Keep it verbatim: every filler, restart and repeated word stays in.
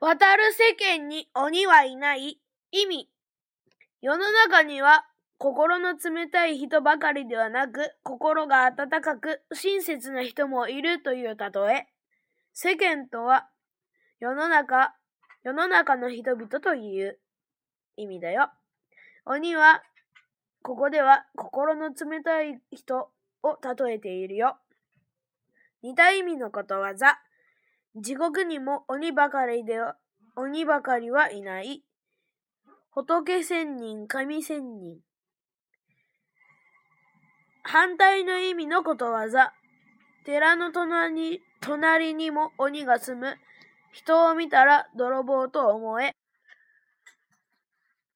渡る世間に鬼はいない。意味。世の中には心の冷たい人ばかりではなく、心が温かく親切な人もいるという例え。世間とは世の中、世の中の人々という意味だよ。鬼は、ここでは心の冷たい人を例えているよ。似た意味のことわざ。地獄にも鬼ばかりでは、鬼ばかりはいない。仏千人、神千人。反対の意味のことわざ。寺の隣に、隣にも鬼が住む。人を見たら泥棒と思え。